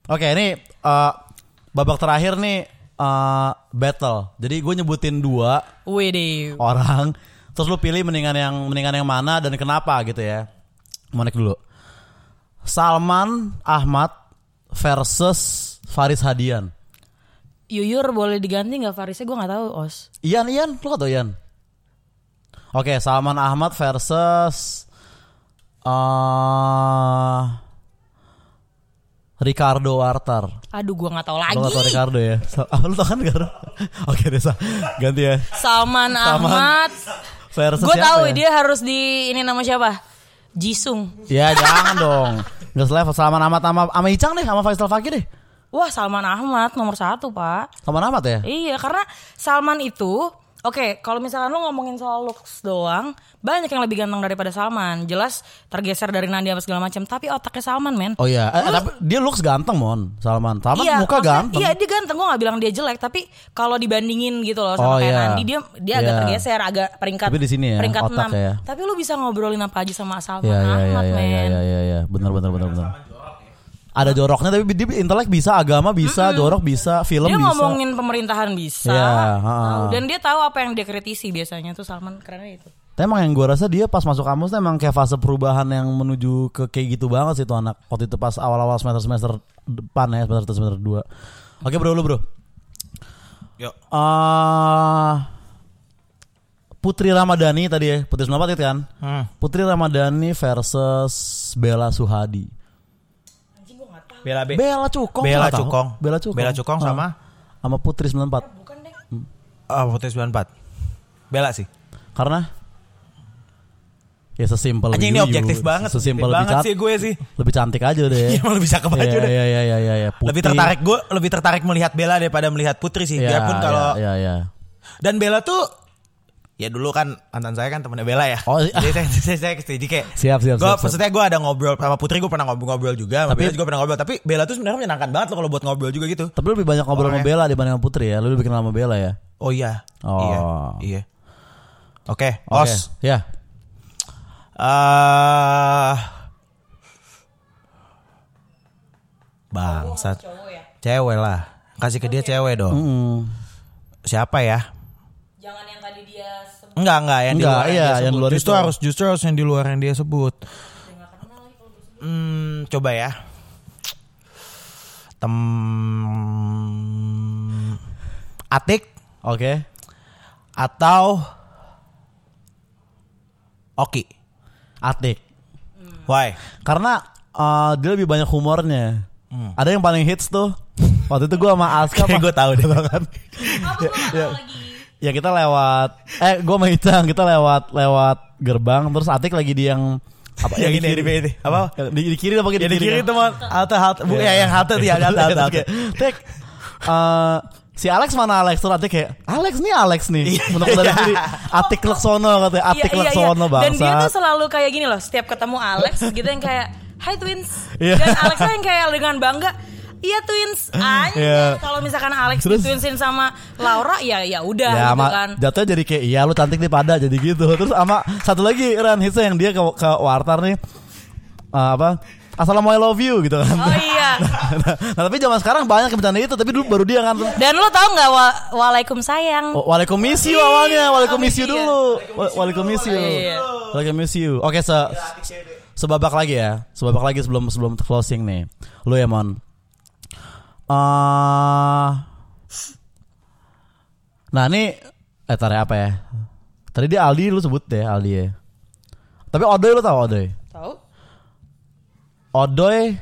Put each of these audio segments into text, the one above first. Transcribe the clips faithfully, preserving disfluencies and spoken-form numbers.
Oke, ini uh, babak terakhir nih uh, battle. Jadi gue nyebutin dua Widih. orang, terus lu pilih mendingan yang mendingan yang mana dan kenapa gitu ya. Monek dulu. Salman Ahmad versus Faris Hadian. Yuyur boleh diganti nggak Farisnya? Gue nggak tahu Os. Ian, Ian, lu kata Ian. Oke, Salman Ahmad versus uh, Ricardo Wartar. Aduh, gue nggak tahu lagi. Lu gak tau Ricardo ya? Ah, lu tau kan Ricardo? Oke, Desa, ganti ya. Salman, Salman Ahmad. Versus Gue siapa tahu ya? dia harus di ini nama siapa? Jisung. Ya jangan dong. Gak selevel. Salman Ahmad sama sama Icang deh, sama Faisal Fakih deh. Wah, Salman Ahmad nomor satu pak. Salman Ahmad ya? Iya, karena Salman itu oke, kalau misalkan lo ngomongin soal looks doang, banyak yang lebih ganteng daripada Salman. Jelas tergeser dari Nandi apa segala macam, tapi otaknya Salman, men. Oh iya, eh, tapi dia looks ganteng, Mon. Salman. Salman iya, muka ganteng. Iya, dia ganteng. Gue nggak bilang dia jelek, tapi kalau dibandingin gitu loh Oh, sama kayak iya. Nandi, dia dia agak Iya. tergeser, agak peringkat Tapi di sini ya, peringkat otak enam. ya. Tapi lo bisa ngobrolin apa aja sama Salman Iya, iya, Ahmad, iya, men. iya, iya, iya, iya. Benar, benar, benar, benar. Ada joroknya, tapi dia intelek bisa, agama bisa, mm-hmm. jorok bisa, film dia bisa. Dia ngomongin pemerintahan bisa. Iya, tahu. Dan dia tahu apa yang dia kritisi biasanya tuh Salman, kerennya itu. Tapi emang yang gue rasa dia pas masuk kampus tuh emang kayak fase perubahan yang menuju ke kayak gitu banget sih tuh anak. Waktu itu pas awal-awal semester-semester depan ya, semester semester dua. Oke bro, lu bro. Yuk. Uh, Putri Ramadhani tadi ya, Putri sembilan puluh empat itu kan. Hmm. Putri Ramadhani versus Bella Suhadi. Bella B. Bella Cukong. Bella Cukong. Bella Cukong. Bella Cukong sama sama Putri sembilan puluh empat. Bukan deh. Ah, oh, Putri sembilan puluh empat. Bella sih. Karena ya sesimpel Anjing ini objektif banget. Sesimpel banget cantik, sih gue sih. Lebih cantik aja deh. Iya, emang lebih cakep aja deh. Iya iya iya iya ya. Lebih tertarik gue, lebih tertarik melihat Bella daripada melihat Putri sih. Ya, Biarpun kalau Iya iya. Dan Bella tuh ya dulu kan mantan saya kan temennya Bella ya. Oh, jadi saya saya, saya setuju kayak. Siap siap. Gue siap, maksudnya gue ada ngobrol sama Putri, gue pernah ngobrol-ngobrol juga. Sama Tapi- Bella juga pernah ngobrol. Tapi Bella tuh sebenarnya menyenangkan banget loh kalau buat ngobrol juga gitu. Tapi lebih banyak ngobrol sama Orangnya. Bella dibanding sama Putri ya. Lu lebih kenal sama Bella ya. Oh iya. Oh. Iya. Iya. Oke, Oke. Os. Ya. Eh Bangsat. Cewek lah. Kasih ke dia cewek dong. Mm. Siapa ya? Jangan yang tadi dia sebut. Enggak, enggak yang Enggak, di luar iya, yang dia yang sebut. luar Justru itu. harus justru harus yang di luar yang dia sebut. Hmm, coba ya. Tem Atik Oke. atau Oki? Atik. Why? Karena uh, dia lebih banyak humornya. Hmm. Ada yang paling hits tuh. Waktu itu gue sama Aska Kayak gue tahu deh. kan. ya, ya kita lewat eh gue sama Icang kita lewat lewat gerbang terus Atik lagi di yang apa Yang di ini, kiri. di ini. Apa? Yang Di, di kiri apa Ya di kiri itu mah halte halte bu ya yang halte dia halte halte. halte. Tek eh, si Alex mana Alex tuh Atik kayak Alex nih Alex nih menurut dari kiri Atik Leksono katanya Atik Iya, iya, iya. Leksono Dan dia tuh bangsa. selalu kayak gini loh. Setiap ketemu Alex gitu yang kayak Hai twins. Iya. Dan Alex yang kayak dengan bangga iya twins. Anjir. Iya. Kalau misalkan Alex Terus- ditwinsin sama Laura ya ya udah Ya, gitu sama, kan. jatuhnya jadi kayak iya lu cantik nih pada jadi gitu. Terus sama satu lagi Ran hitsnya yang dia ke ke Wartar nih uh, apa Assalamu I love you gitu kan. Oh iya. nah, nah, tapi zaman sekarang banyak yang bercanda itu tapi dulu baru dia kan. Dan lo tau nggak wa Waalaikum sayang. Oh, Waalaikum miss you awalnya, Waalaikum miss you Iya. dulu. Wa- Waalaikum miss you. Iya. Waalaikum miss you. Oke, se sebabak lagi ya. Sebabak lagi sebelum sebelum closing nih. Lu ya, Mon. Uh, nah, ini eh tarik apa ya? Tadi dia Aldi lu sebut deh, Aldi ya. Tapi Odoy lu tahu Odoy? Tahu? Odoy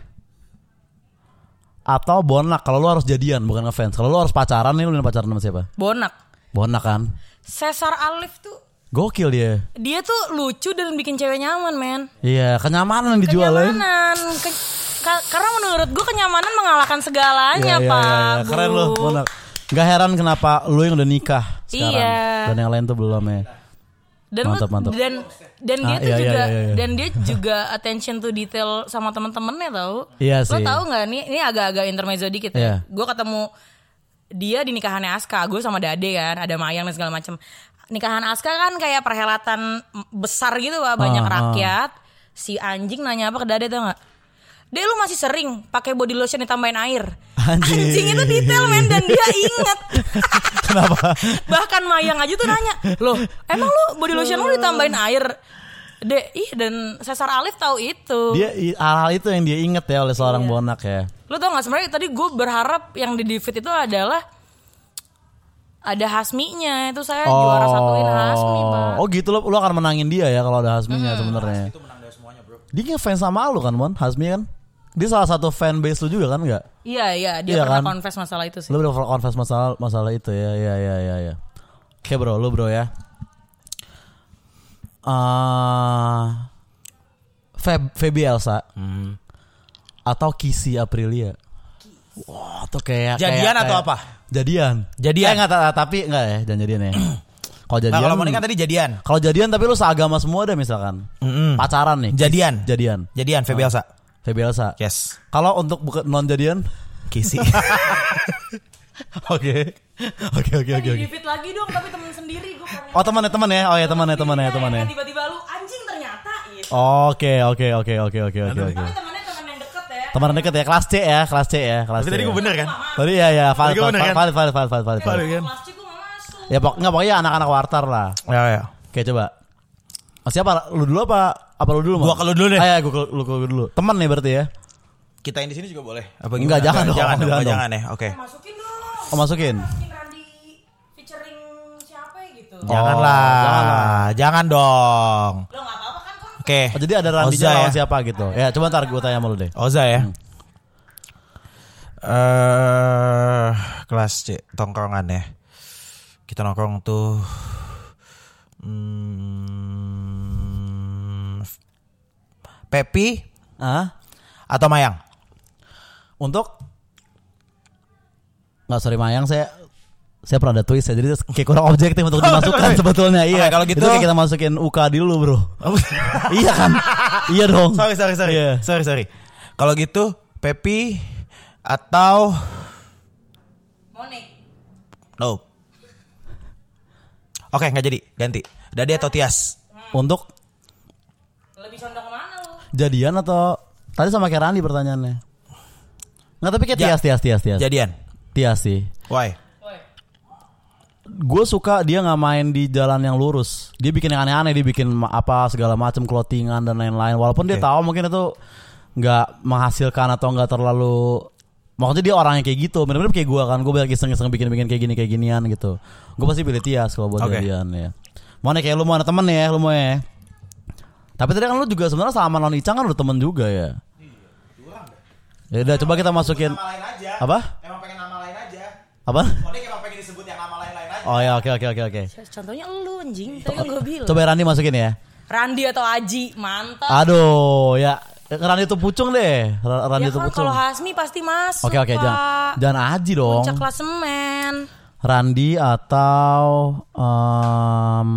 atau Bonak kalau lu harus jadian bukan ngefans. Kalau lu harus pacaran nih lu pacaran sama siapa? Bonak. Bonak kan. Cesar Alif tuh Gokil dia. dia tuh lucu dan bikin cewek nyaman, men. Iya, kenyamanan yang dijual ya. Kenyamanan. Ke- ka- karena menurut gue kenyamanan mengalahkan segalanya, Iya, iya, Pak. iya, iya. Keren Bu. lu, Bonak. Gak heran kenapa lu yang udah nikah sekarang Iya. dan yang lain tuh belum ya. Dan Mantap, lu- mantap. dan dan dia Ah, tuh iya, juga iya, iya, iya. dan dia juga attention to detail sama temen-temennya tau. Iya Lo sih. tau nggak nih ini agak-agak intermezzo dikit Iya. ya. Gue ketemu dia di nikahannya Aska, gue sama Dade kan, ada Mayang dan segala macam. Nikahan Aska kan kayak perhelatan besar gitu Pak, banyak Ah, ah. rakyat. Si anjing nanya apa ke Dade tau nggak? Dek lu masih sering pakai body lotion ditambahin air. Anjing. Anjing itu detail men dan dia inget. Kenapa? Bahkan Mayang aja tuh nanya, loh emang lu body lotion lu ditambahin air? Dek, iya dan Cesar Alif tahu itu. Dia hal itu yang dia inget ya oleh seorang Iya. bonak ya. Lu tau gak sebenarnya tadi gue berharap yang di Divit itu adalah ada Hasminya. Itu saya juara satuin Hasmi, Pak. Oh gitu lo, lo akan menangin dia ya kalau ada Hasminya hmm. sebenarnya. Itu menang dari semuanya, bro. Dia ngefans sama lu kan, Mon? Hasmi kan? Dia salah satu fan base lu juga kan enggak? Iya, iya, dia Iya pernah kan? confess masalah itu sih. Lu udah confess masalah masalah itu ya. Iya iya iya ya. Oke, bro, lu bro ya. Uh, Feb Febi Elsa Hmm. atau Kissy Aprilia. Wah, tuh kayak Jadian kayak, atau kayak, apa? Jadian. Jadian. Eh, enggak, ta- tapi enggak ya, jangan jadian ya. Kalau jadian. Nah, kalau Monica tadi jadian. Kalau jadian tapi lu seagama semua deh misalkan. Mm-mm. Pacaran nih. Jadian. Jadian. Jadian Febi Elsa. Febi Elsa. Yes. Kalau untuk bukan non jadian? Kissy. Oke. Oke oke oke Di oke. Divit lagi dong, tapi temen sendiri gue pengen. Oh, teman ya, teman ya. Oh ya, teman ya, teman ya, teman ya. Tiba-tiba lu anjing ternyata gitu. Oke, oke, oke, oke, oke, oke, oke. Tapi temennya temen yang deket ya. Teman deket ya, kelas C ya, kelas C ya, kelas C. Tapi tadi ya. gue bener kan? Tadi ya ya, valid, Tadi gua bener valid, kan? valid, valid, valid, valid, valid, valid. kan? Kelas C gue gak masuk. Ya pok, nggak pokoknya anak-anak wartar lah. Ya ya. Oke coba. Oh, siapa? Lu dulu apa? Apa lu dulu? Mon? Gua ke lu dulu deh. Ah, ya, gua ke lu ke lu dulu. Teman nih berarti ya? Kita yang di sini juga boleh. Apa Enggak, jangan dong, Jangan, jangan jangan, dong. jangan ya. Oke. Masukin dong. Oh masukin. Masukin Randy featuring siapa ya gitu. Janganlah. janganlah. Jangan dong. Lo gak apa-apa kan kok. Oke. Oh, jadi ada Randy Oza lawan ya. siapa gitu? Ya coba ntar gue tanya sama lu deh. Oza ya. Eh, kelas C tongkrongan ya. Kita nongkrong tuh hmm, Pepi Ah? atau Mayang? Untuk nggak sorry Mayang saya saya pernah ada twist ya jadi kayak kurang objektif untuk dimasukkan sebetulnya iya Oke, kalau gitu- itu kayak kita masukin U K dulu bro. Iya kan iya dong Sorry sorry sorry Iya. sorry sorry. Kalau gitu Pepi atau Monik. no? Oke nggak jadi ganti. Dade atau Tias? untuk Lebih condong kemana lu? jadian atau tadi sama kayak Randy pertanyaannya nggak tapi kayak Ja- Tias Tias Tias Tias Jadian. Tias sih Why? Woi. gue suka dia nggak main di jalan yang lurus dia bikin yang aneh-aneh dia bikin ma- apa segala macam clothingan dan lain-lain walaupun dia Oke. tahu mungkin itu nggak menghasilkan atau nggak terlalu maksudnya dia orangnya kayak gitu bener-bener kayak gue kan gue banyak iseng-iseng bikin-bikin kayak gini kayak ginian gitu gue pasti pilih Tias kalau buat Oke. jadian ya mau nih kayak lu mau ada temen ya lu mau ya tapi tadi kan lu juga sebenarnya sama non Icang kan udah temen juga ya ya udah coba kita masukin lain aja. apa Emang pengen nama lain aja. apa Monik emang pengen disebut yang nama lain-lain aja. oh ya oke oke oke oke Contohnya lu anjing. Tadi kan gue bilang. coba Randy masukin ya Randy atau Aji. Mantap. aduh ya Randy itu pucung deh Ra- Randy Ya itu kan pucung kalau Hasmi pasti masuk. oke oke Pak. jangan jangan Aji dong Puncak klasemen. Randy atau um,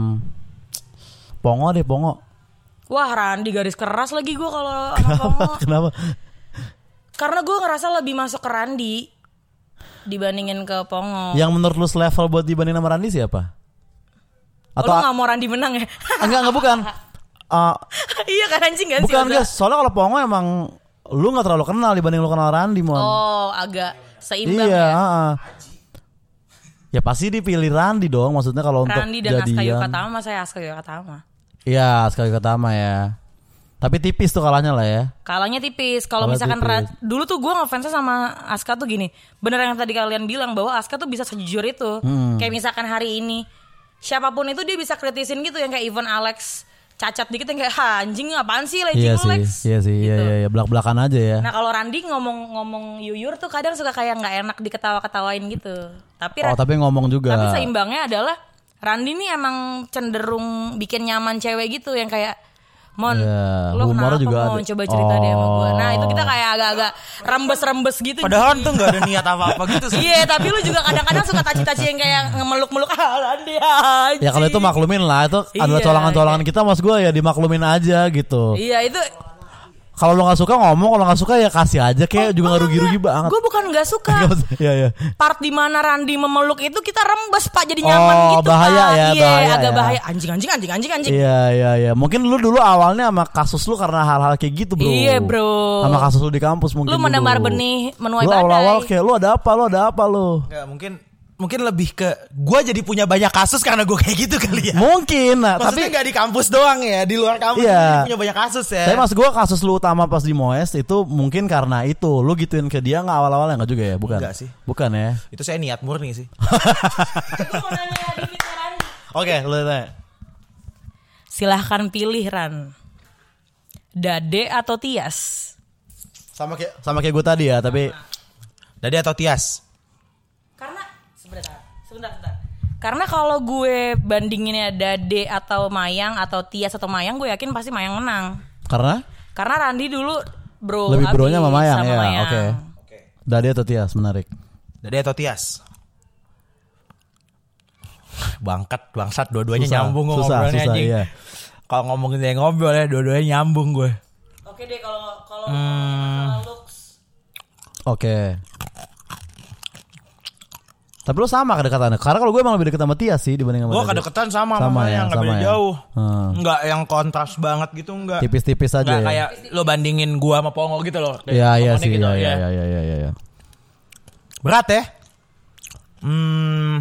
Pongo deh Pongo Wah Randy garis keras lagi gue kalau sama Pongo. kenapa Karena gue ngerasa lebih masuk ke Randy dibandingin ke Pongo. yang menurut lu level buat dibanding sama Randy siapa Oh, atau lu gak mau Randy menang ya? enggak enggak bukan Uh, Iya kan anjing kan sih. bukan Oza? guys soalnya kalau Pongo emang lu nggak terlalu kenal dibanding lu kenal Randy mon Oh agak seimbang iya ya. uh-uh. Ya pasti dipilih Randy dong maksudnya kalau untuk Randy dan Aska jadian Yukatama. Saya Aska Yukatama. iya sekali Yukatama ya tapi tipis tuh kalahnya lah ya Kalahnya tipis. Kalau Kalah misalkan tipis. Ra- dulu tuh gue ngefansnya sama Aska tuh gini. Bener yang tadi kalian bilang bahwa Aska tuh bisa sejujur itu. Hmm. Kayak misalkan hari ini siapapun itu dia bisa kritisin gitu yang kayak even Alex cacat dikit yang kayak ha, anjing apaan sih legging iya lu sih Lex. iya sih iya Gitu. iya iya belak-belakan aja ya Nah kalau Randy ngomong-ngomong yuyur tuh kadang suka kayak nggak enak diketawa-ketawain gitu. Tapi oh Ra- tapi ngomong juga tapi seimbangnya adalah Randy nih emang cenderung bikin nyaman cewek gitu yang kayak Mon, Iya, lo humornya kenapa juga Mon? ada. Coba cerita deh sama gue. Nah itu kita Oh. kayak agak-agak rembes-rembes gitu. Padahal Ji. tuh nggak ada niat apa-apa gitu sih. Iya tapi lu juga kadang-kadang suka taci-taci yang kayak ngemeluk-meluk ah Randy aja. ya kalau itu maklumin lah itu adalah Iya, colongan-colongan kita mas gue ya dimaklumin aja gitu Iya itu Kalau lo nggak suka ngomong, kalau nggak suka ya kasih aja, kayak Oh, juga nggak oh, rugi-rugi enggak. banget. Gue bukan nggak suka. Iya iya. Part di mana Randi memeluk itu kita rembes Pak, jadi Oh, nyaman gitu bahaya Pak. ya, Iya, bahaya agak ya. bahaya. Anjing anjing anjing anjing anjing. Iya iya iya. Mungkin lu dulu awalnya sama kasus lu karena hal-hal kayak gitu bro. Iya bro. Sama kasus lu di kampus mungkin. Lu menebar dulu. benih menuai Lu badai. awal-awal kayak lu ada apa, lu ada apa lu? Enggak, mungkin mungkin lebih ke gue jadi punya banyak kasus karena gue kayak gitu kali ya. Mungkin, nah, Maksudnya tapi nggak di kampus doang ya, di luar kampus Iya. juga punya banyak kasus ya. tapi mas gue kasus lu utama pas di Moes itu mungkin karena itu lu gituin ke dia nggak awal-awalnya nggak juga ya, bukan? Enggak sih. Bukan ya? Itu saya niat murni sih. Gue mau nanya Dikit Randi. Oke, lu tanya. Silahkan pilih Ran. Dade atau Tias? Sama kayak sama kayak gue tadi ya, tapi Dade atau Tias? Karena sebentar, sebentar, sebentar. Karena kalau gue bandinginnya Dade atau Mayang atau Tias atau Mayang, gue yakin pasti Mayang menang. karena Karena Randi dulu bro lebih abis bronya sama Mayang ya. Mayang. Oke. Dade atau Tias, menarik. Dade atau Tias? Bangkat, bangsat, dua-duanya Susah, nyambung gue susah, ngobrolnya susah, anjing. iya. Kalau ngomongin saya ngobrol ya, dua-duanya nyambung gue. Oke deh kalau kalau Hmm. masalah looks. Oke. Tapi lu sama kedekatannya. Karena kalau gue emang lebih dekat sama Tias sih dibanding sama Gue Dade. kedekatan sama Sama sama ya, yang nggak sama beda ya. jauh. Hmm. Enggak yang kontras banget gitu, enggak. Tipis-tipis aja Nggak ya. kayak lo bandingin gua sama Pongo gitu loh. Iya iya Omongannya sih, gitu, iya ya. iya iya iya iya. Berat ya? Hmm.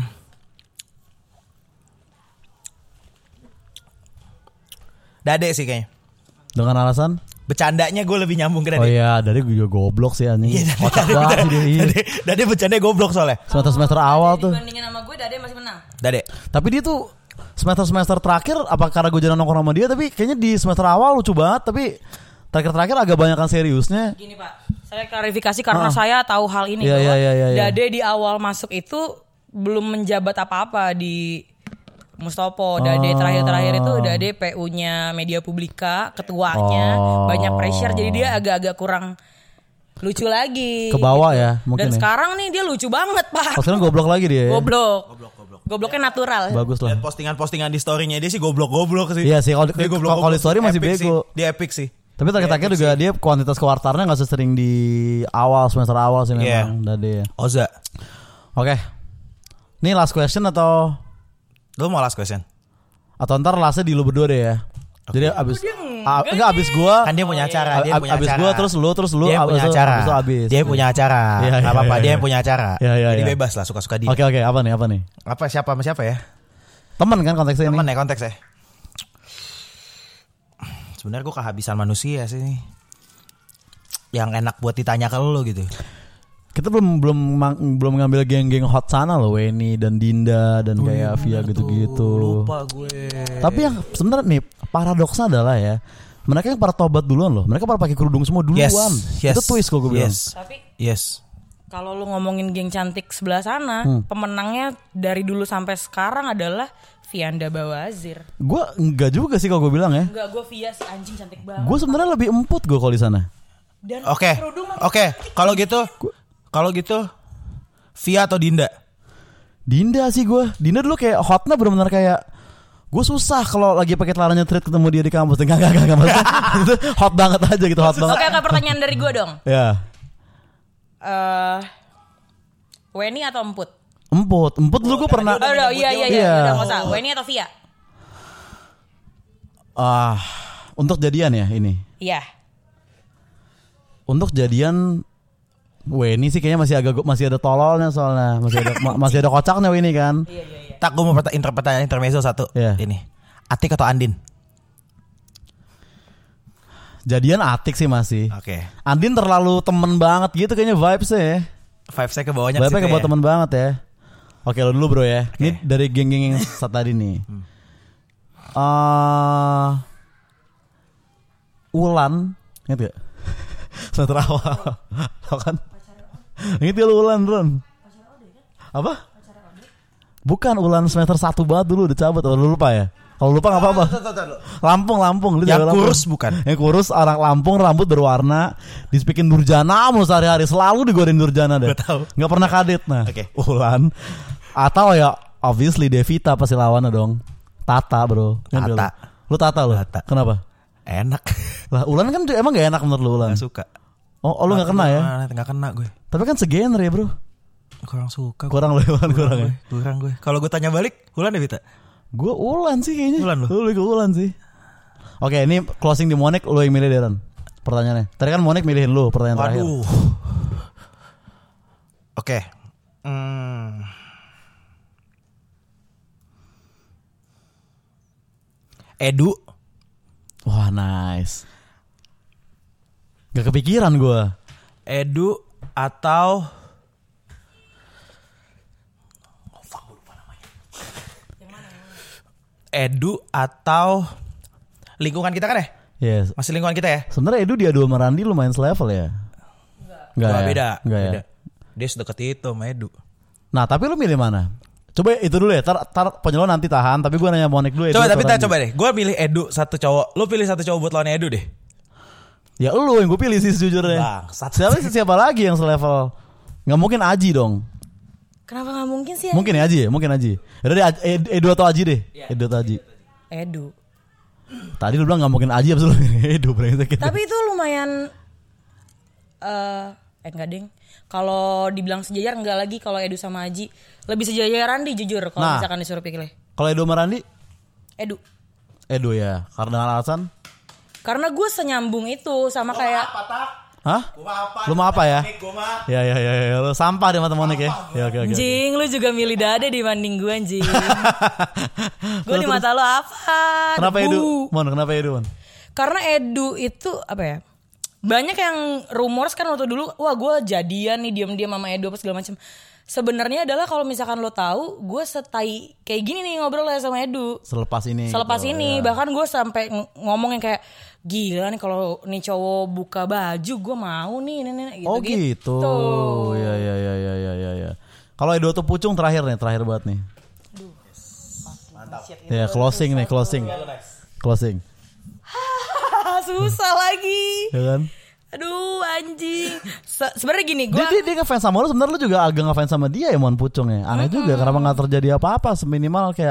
Dade sih kayaknya. Dengan alasan? Bercandanya gue lebih nyambung ke Dade. Oh iya, Dade juga goblok sih anjing. Iya, Dade, Kocak Dade, banget sih dia. iya. Dade, Dade bercandanya goblok soalnya. Semester-semester awal tuh. Dibandingin sama gue Dade masih menang. Dade. Tapi dia tuh semester-semester terakhir apa karena gue jarang nongkrong sama dia, tapi kayaknya di semester awal lucu banget, tapi terakhir-terakhir agak banyakan seriusnya. Gini Pak, saya klarifikasi karena Ah. saya tahu hal ini Iya, bahwa iya, iya, iya, iya. Dade di awal masuk itu belum menjabat apa-apa di Mustopo. Dade Oh. terakhir-terakhir itu Dade P U-nya Media Publika, ketuanya, Oh. banyak pressure jadi dia agak-agak kurang lucu lagi. Ke bawah ya, mungkin Dan ya. sekarang nih dia lucu banget Pak. Oh, sekarang goblok lagi dia. ya? Goblok. Gobloknya natural. Bagus lah. Dan postingan-postingan di story-nya dia sih goblok-goblok sih. Iya sih, kalau Dia goblok-goblok. kalau di story masih Epic bego. sih. Dia epic sih. Tapi terakhir-terakhir juga dia kuantitas kewartarnya nggak sesering di awal semester awal sih Iya. memang Dade ya. Oza. Oke. Ini last question atau Lu mau last question? atau ntar lastnya di lu berdua deh ya. Jadi abis dia a- enggak abis gua Kan dia punya acara, dia ab- punya abis acara. gua terus lu terus lu Dia abis punya itu- acara. abis itu abis. Dia punya acara. Iya, Gak iya, apa-apa, iya, dia iya. yang punya acara. Iya, iya, Jadi iya. bebas lah suka-suka dia. Oke oke, apa nih apa nih? Apa siapa sama siapa ya? Temen kan konteksnya Temen ini. ya konteksnya. Sebenarnya gue kehabisan manusia sih nih. Yang enak buat ditanya ke lu gitu. Kita belum belum mang- belum ngambil geng-geng hot sana loh, Weni dan Dinda dan kayak Via gitu-gitu. Lupa gue. Tapi yang sebenarnya nih paradoksnya adalah ya, mereka yang para tobat duluan loh. Mereka pada pakai kerudung semua duluan. Yes, yes. Itu twist kalau gue bilang. Yes. Tapi Yes. kalau lu ngomongin geng cantik sebelah sana, Hmm. pemenangnya dari dulu sampai sekarang adalah Vianda Bawazir. Gue enggak juga sih kalau gue bilang ya. Enggak, gue Via si anjing cantik banget. Gue sebenarnya lebih emput gue kalau di sana. Dan Oke. kerudung makin Oke, kalau gitu kalau gitu Via atau Dinda? Dinda sih gue. Dinda dulu kayak hotnya benar-benar kayak gue susah kalau lagi pakai celananya thread ketemu dia di kampus. Enggak enggak enggak maksudnya itu hot banget aja gitu, hot banget. Oke, oke, pertanyaan dari gue dong. Ya. Eh Weni atau Emput? Emput, emput dulu gue pernah. Oh, udah, iya iya iya, Iya. udah nggak usah. Weni atau Via? Ah, untuk jadian ya ini. Iya. Untuk jadian Weni sih kayaknya masih agak masih ada tololnya soalnya, masih ada ma- masih ada kocaknya Weni kan. Iya iya iya. Tak, gue mau perta- inter- pertanyaan intermezzo satu. Iya. Ini. Atik atau Andin? Jadian Atik sih masih. Oke. Andin terlalu temen banget gitu kayaknya vibesnya ya. Five saya ke bawahnya Vibesnya situ kayak buat ya. temen banget ya. Oke lo dulu bro ya. Ini dari geng-geng yang saat tadi nih. Eh, Ulan, ingat gak? Semester awal, tau kan? Ingat gak lu Ulan, Ron? Apa? Bukan, Ulan semester satu banget dulu udah cabut. Oh, lu lupa ya? Kalau lupa nggak apa-apa. Lampung, Lampung. Lu Yang jaga Lampung. kurus bukan? Yang kurus, orang Lampung, rambut berwarna, disepikin Nurjana mulu sehari-hari, selalu digodain Nurjana deh. Gak tahu. Nggak pernah kadit. Nah, Oke. Ulan. Atau ya obviously Devita pasti lawannya dong. Tata bro. Ingat gak Tata. Lu Lu Tata lu. Tata. Kenapa? Enak. Lah Ulan kan emang gak enak menurut lu Ulan? Gak suka. Oh, oh lu gak kena ya? Gak kena gue. Tapi kan segener ya bro. Kurang suka. Kurang lu Ulan, kurang ya? Kurang gue. Kalau gue tanya balik, Ulan deh Vita. Gue Ulan sih kayaknya. Ulan lu? Lu ke Ulan sih. Oke, ini closing di Monik, lu yang milih Deran. Pertanyaannya. Tadi kan Monik milihin lu pertanyaan terakhir. Waduh. Oke. Hmm. Edu. Wah, nice. Gak kepikiran gue. Edu atau Edu atau lingkungan kita kan ya? Yes. Masih lingkungan kita ya? Sebenarnya Edu dia dua sama Randi lumayan selevel ya? Enggak. Enggak ya? Beda. Enggak beda. Ya? Dia sedekat itu sama Edu. Nah, tapi lu milih mana? Coba itu dulu ya. Tar, tar penyeluan nanti tahan. Tapi gue nanya Monik dulu. Edu Coba tapi Randi. coba deh. Gue milih Edu satu cowok. Lu pilih satu cowok buat lawan Edu deh. Ya lu yang gue pilih sih sejujurnya. Bangsat. Siapa siapa lagi yang selevel? Nggak mungkin Aji dong. Kenapa nggak mungkin sih? Mungkin ya Aji ya, mungkin Aji. Yaudah deh Ed- Edu atau Aji deh. Edu atau Aji. Edu. Tadi lu bilang nggak mungkin Aji abis lu Edu brengsek gitu. Tapi itu lumayan eh eh enggak ding. Kalau dibilang sejajar enggak lagi kalau Edu sama Aji. Lebih sejajar Randi jujur kalau Nah. misalkan disuruh pilih. Kalau Edu sama Randi? Edu. Edu ya. Karena alasan? Karena gue senyambung itu sama kayak Hah? Lu mau apa ya? Ya ya ya ya. Lu sampah deh mata Monik ya. Ya oke oke. anjing, lu juga milih dade dibanding gue anjing. Gue di mata lu apa? Kenapa Debu. Edu? Mon, kenapa Edu, Mon? Karena Edu itu apa ya? Banyak yang rumors kan waktu dulu, wah gue jadian nih diam-diam sama Edu apa segala macam. Sebenarnya adalah kalau misalkan lo tahu, gue setai kayak gini nih ngobrol ya sama Edu. Selepas ini. Selepas gitu, ini ya. bahkan gue sampai ng- ngomong yang kayak gila nih kalau nih cowok buka baju gue mau nih nih, nih gitu Oh gitu. Ya ya ya ya ya ya ya. Kalau Edu atau Pucung terakhir nih, terakhir banget nih. Mantap. Ya closing nih, closing. Closing. Susah lagi. Ya kan? Aduh anjing. Se- Sebenarnya gini gue. Dia, dia, dia ngefans sama lu, sebenarnya lu juga agak ngefans sama dia ya Mon Pucung ya. Aneh juga kenapa nggak terjadi apa-apa seminimal kayak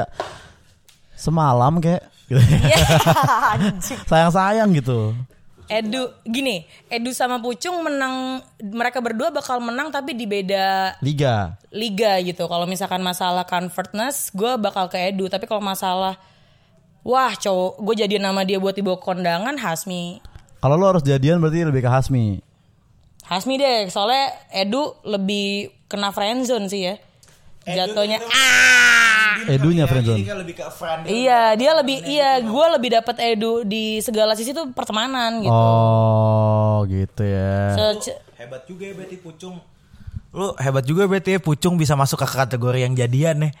semalam kayak gitu. Iya, anjing. Sayang-sayang gitu. Edu gini, Edu sama Pucung menang, mereka berdua bakal menang tapi di beda Liga. liga gitu. Kalau misalkan masalah convertness, gue bakal ke Edu. Tapi kalau masalah, wah cowok, gue jadi nama dia buat dibawa kondangan, Hasmi. Kalau lu harus jadian berarti lebih ke Hasmi. Hasmi deh, soalnya Edu lebih kena friendzone sih ya. Jatuhnya ah. Edunya friendzone. Iya, dia lebih iya, gue lebih dapat Edu di segala sisi tuh pertemanan gitu. Oh, gitu ya. Se- Hebat juga ya berarti Pucung. Lu hebat juga berarti ya Pucung bisa masuk ke kategori yang jadian nih.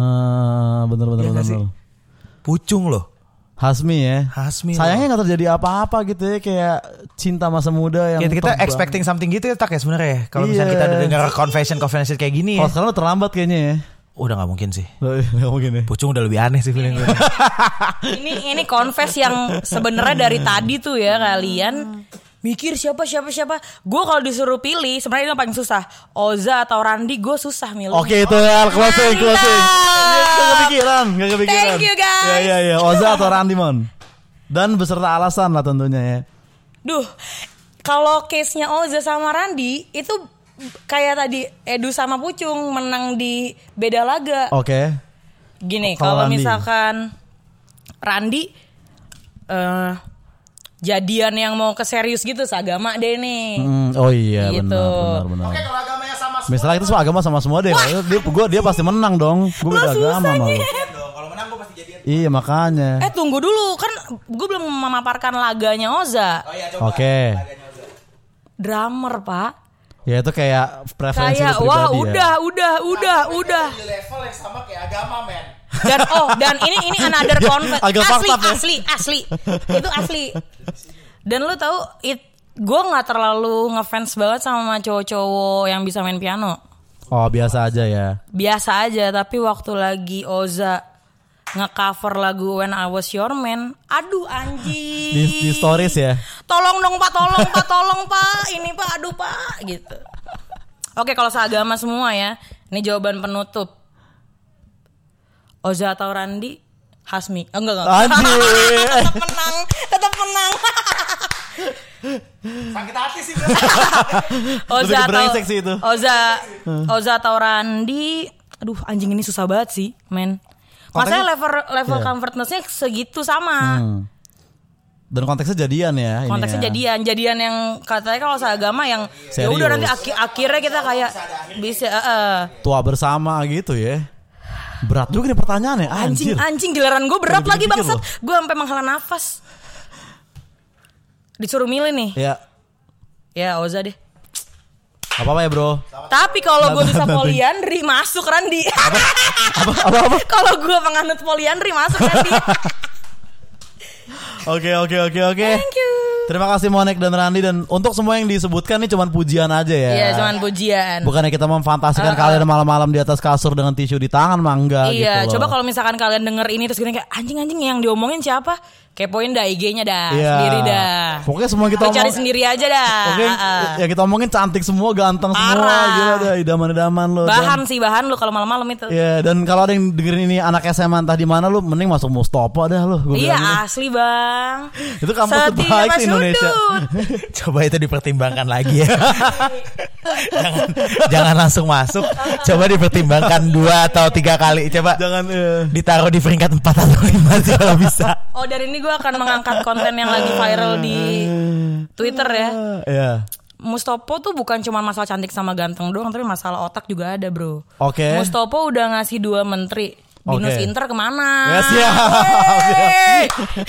Ah, bener bener Iya bener. nggak sih? bener. Pucung loh. Hasmi ya. Hasmi. Sayangnya nggak terjadi apa-apa gitu ya, kayak cinta masa muda yang Kita, kita terbang. expecting something gitu ya tak ya sebenarnya ya. Kalau misalnya Iya. kita dengar confession confession kayak gini Kalau ya. sekarang udah terlambat kayaknya ya. Udah nggak mungkin sih. Nggak mungkin ya. Pucung udah lebih aneh sih feeling gue. ini ini confess yang sebenarnya dari tadi tuh ya kalian mikir siapa siapa siapa. Gue kalau disuruh pilih sebenarnya yang paling susah Oza atau Randi, gue susah milih. Oke itu ya closing closing. Gak kepikiran, gak kepikiran. Thank you, guys. Ya ya ya. Oza atau Randi Mon. Dan beserta alasan lah tentunya ya. Duh, kalau case-nya Oza sama Randi itu kayak tadi Edu sama Pucung menang di beda laga. Oke. Gini, Kalau kalau Randi. misalkan Randi eh jadian yang mau ke serius gitu seagama deh nih. Hmm, oh iya Gitu. benar benar benar. Oke kalau agamanya sama semua. Misalnya itu semua agama sama semua deh. Dia, gua dia pasti menang dong. Gue beda agama malu. Kalau menang gue pasti jadian. Iya makanya. Eh tunggu dulu, kan gue belum memaparkan laganya Oza. Oh iya coba. Oke. Drummer pak. Ya itu kayak preferensi Kayak lu wah pribadi ya. udah udah udah udah. Di level yang sama kayak agama men. Dan oh dan ini ini another confess. Agak Asli fucked up ya. asli asli. Itu asli. Dan lu tahu it gue nggak terlalu ngefans banget sama cowok-cowok yang bisa main piano. Oh biasa aja ya. Biasa aja, tapi waktu lagi Oza nge-cover lagu When I Was Your Man, aduh anjing. Di, di stories ya. Tolong dong pak, tolong pak, tolong pak, ini pak, aduh pak, gitu. Oke kalau seagama semua ya, ini jawaban penutup. Oza atau Randi? Hasmi, oh, enggak enggak. Anjir. tetap menang, tetap menang. Sakit hati sih. Oza Lebih atau brengsek sih itu. Oza, Oza atau Randi. Aduh anjing ini susah banget sih, men. Maksudnya level level Iya. comfortness-nya segitu sama. Hmm. Dan konteksnya jadian ya. ini Konteksnya ya. jadian, jadian yang katanya kalau seagama yang ya udah Serius. nanti aki- akhirnya kita kayak bisa uh, Tua bersama gitu ya. Berat juga nih pertanyaannya. anjing Anjir. anjing giliran gue berat Lagi lagi dipikir bangsat. loh. Gue sampai menghela nafas. Disuruh milih nih. Ya. Ya Oza deh. Gak apa-apa ya bro. Tapi kalau gue bisa Nanti. poliandri masuk Randi. Apa apa apa? Kalau gue penganut poliandri masuk Randi. Oke oke oke oke. Thank you. Terima kasih Monek dan Randi, dan untuk semua yang disebutkan ini cuman pujian aja ya. Iya, cuman pujian. Bukannya kita memfantasikan Uh, uh. kalian malam-malam di atas kasur dengan tisu di tangan, mah enggak Iya, gitu loh. coba kalau misalkan kalian denger ini terus gini kayak anjing-anjing yang diomongin siapa? Kepoin dah I G-nya dah, Iya. sendiri dah. Pokoknya semua kita Lu cari omong- sendiri aja dah. Oke, Ah, ah. ya kita omongin cantik semua, ganteng semua, Parah. gila dah, idaman-idaman lo. Bahan sih bahan lu kalau malam-malam itu. Ya, dan kalau ada yang dengerin ini anak S M A entah di mana, lu mending masuk Mustopo dah lu. Gua Iya bilang gitu. asli bang. Itu kampus Setia terbaik Mas di Indonesia. Udut. Coba itu dipertimbangkan lagi ya. jangan jangan langsung masuk. Coba dipertimbangkan dua atau tiga kali. Coba Jangan eh. ditaruh di peringkat empat atau lima sih kalau bisa. Oh dari ini gue akan mengangkat konten yang lagi viral di Twitter ya. Iya. Mustopo tuh bukan cuma masalah cantik sama ganteng doang, tapi masalah otak juga ada bro. Oke. Mustopo udah ngasih dua menteri. Binus Oke. Inter kemana? Ya siap. Wey!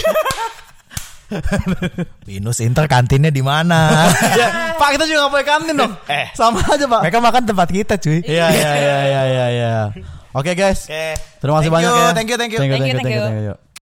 Binus Inter kantinnya di mana? Ya, Pak, kita juga nggak pakai kantin dong. Eh. Sama aja Pak. Mereka makan tempat kita cuy. Iya iya iya iya iya iya. Oke guys. Oke. Terima kasih Thank banyak you, ya. thank you, thank you. Thank you, Thank you, thank you, thank you. thank you.